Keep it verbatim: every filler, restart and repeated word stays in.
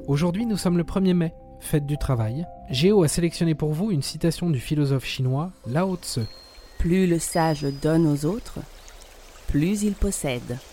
Aujourd'hui, nous sommes le premier mai, fête du travail. Géo a sélectionné pour vous une citation du philosophe chinois Lao Tse. Plus le sage donne aux autres, plus il possède.